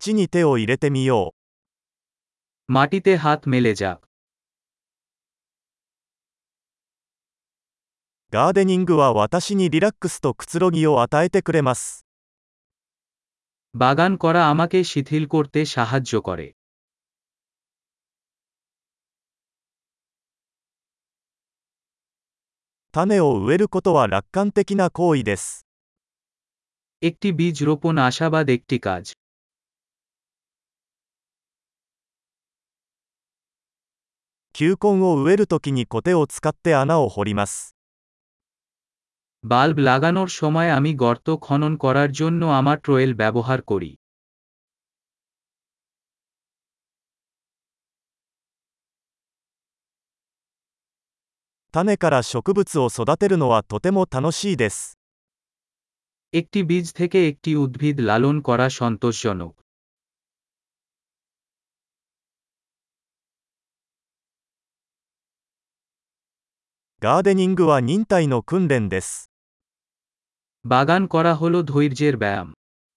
土に手を入れてみよ মাটিতে হাত মেলে যাক। う。ガーデニングは私にリラックスとくつろぎを与えてくれます。 বাগান করা আমাকে শিথিল করতে সাহায্য করে। 種を植えることは楽観的な行為です。 একটি বীজ রোপণ আশাবাদ একটি কাজ। 球根を植えるときにコテを使って穴を掘ります。 বাল্ব লাগানোর সময় আমি গর্ত খনন করার জন্য আমার ট্রোয়েল ব্যবহার করি। 種から植物を育てるのはとても楽しいです。 একটি বীজ থেকে একটি উদ্ভিদ লালন করা সন্তোষজনক। ガーデニングは忍耐の訓練です。 বাগান করা হলো ধৈর্যের ব্যায়াম।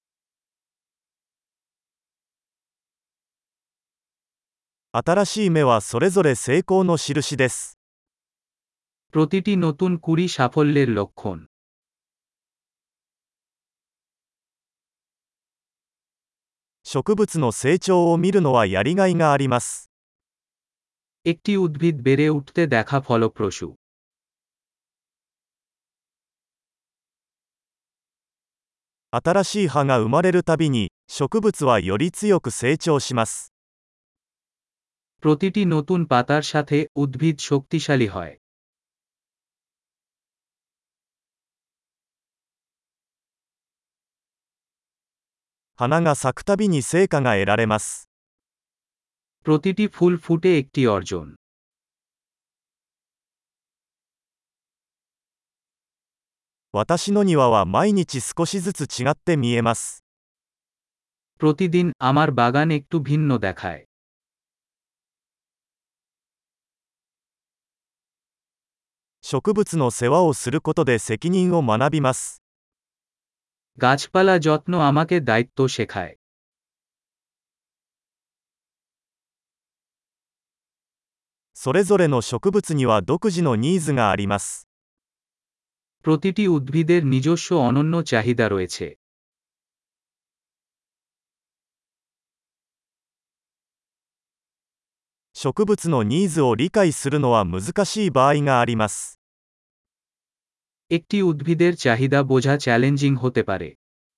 新しい芽はそれぞれ成功の印です。 প্রতিটি নতুন কুঁড়ি সাফল্যের লক্ষণ। 植物の成長を見るのはやりがいがあります。 একটি উদ্ভিদ বেড়ে উঠতে দেখা ফলপ্রসূ। 新しい葉が生まれるたびに、植物はより強く成長します。 প্রতিটি নতুন পাতার সাথে উদ্ভিদ শক্তিশালী হয়। 花が咲くたびに成果が得られます。 প্রতিটি ফুল ফুটে একটি অর্জন। 私の庭は毎日少しずつ違って見えます。 প্রতিদিন আমার বাগান একটু ভিন্ন দেখায়। 植物の世話をすることで責任を学びます。 গাছপালা যত্ন আমাকে দায়িত্ব শেখায়। それぞれの植物には独自のニーズがあります。 প্রতিটি উদ্ভিদের নিজস্ব অনন্য চাহিদা রয়েছে। 植物のニーズを理解するのは難しい場合があります。 একটি উদ্ভিদের চাহিদা বোঝা চ্যালেঞ্জিং হতে পারে।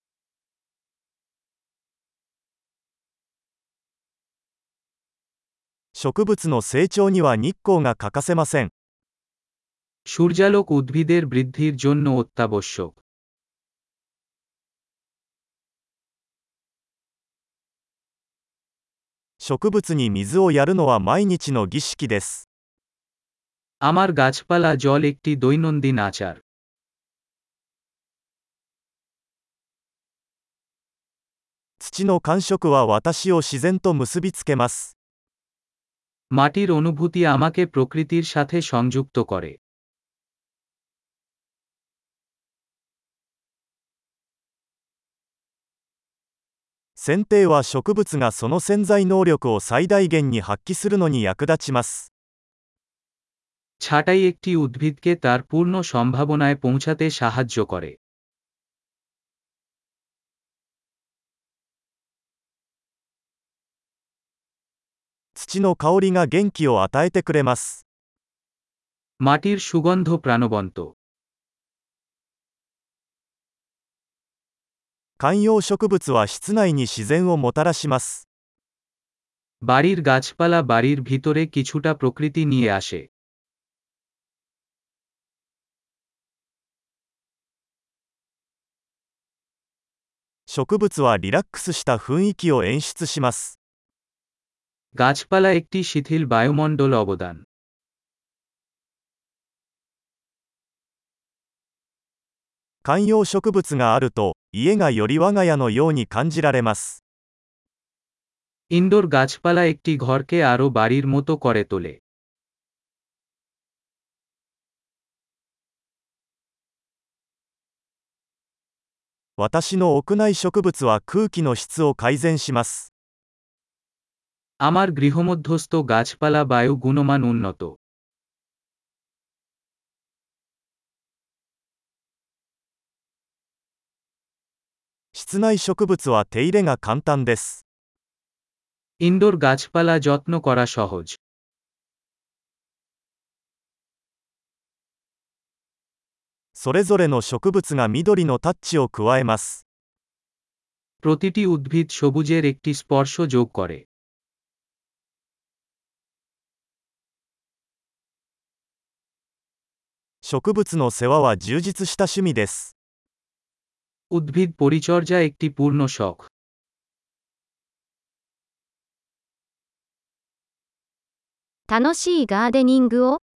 植物の成長には日光が欠かせません。 সূর্যালোক উদ্ভিদের বৃদ্ধির জন্য অত্যাবশ্যক। 植物に水をやるのは毎日の儀式です。 আমার গাছপালা জল একটি দৈনন্দিন আচার। 土の感触は私を自然と結びつけます。 মাটির অনুভূতি আমাকে প্রকৃতির সাথে সংযুক্ত করে। 剪定は植物がその潜在能力を最大限に発揮するのに役立ちます。 ছাঁটাই একটি উদ্ভিদকে তার পূর্ণ সম্ভাবনায় পৌঁছাতে সাহায্য করে। 土の香りが元気を与えてくれます。 মাটির সুগন্ধ প্রাণবন্ত। 観葉植物は室内に自然をもたらします。 বাড়ির গাছপালা বাড়ির ভিতরে কিছুটা প্রকৃতি নিয়ে আসে। 植物はリラックスした雰囲気を演出します。 গাছপালা একটি শিথিল বায়ুমণ্ডল অবদান। 観葉植物があると、家がより我が家のように感じられます。 ইনডোর গাছপালা একটি ঘরকে আরও বাড়ির মতো করে তোলে। 私の屋内植物は空気の質を改善します。 আমার গৃহমধ্যস্থ গাছপালা বায়ু গুণমান উন্নত। 室内植物は手入れが簡単です。 ইনডোর গাছপালা যত্ন করা সহজ। それぞれの植物が緑のタッチを加えます。 প্রতিটি উদ্ভিদ সবুজের একটি স্পর্শ যোগ করে। 植物の世話は充実した趣味です。 উদ্ভিদ পরিচর্যা একটি পূর্ণ শখ। 楽しいガーデニングを